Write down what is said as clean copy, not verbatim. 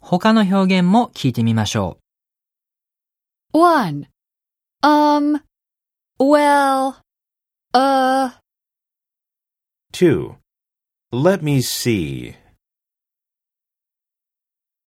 他の表現も聞いてみましょう。1. Well, 2. Let me see.